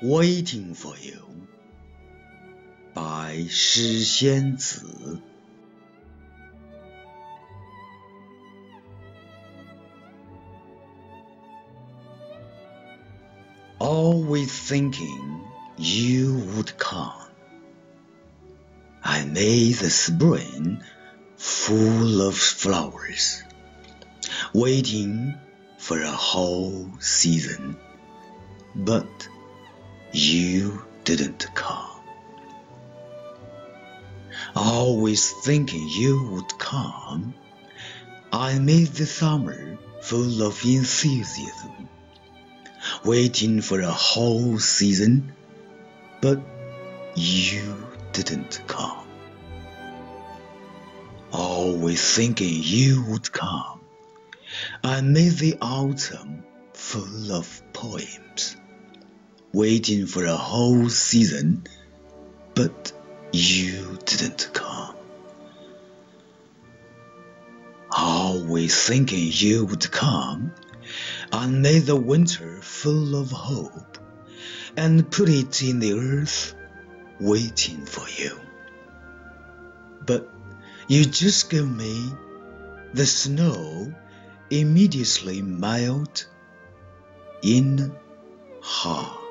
Waiting for You 白诗仙子。Always thinking you would come, I made the spring full of flowers, waiting for a whole season, but you didn't come. Always thinking you would come, I made the summer full of enthusiasm, waiting for a whole season, but you didn't come. Always thinking you would come, I made the autumn full of poems, waiting for a whole season, but you didn't come. Always thinking you would come, I made the winter full of hope, and put it in the earth, waiting for you. But you just gave me the snow immediately melt in half.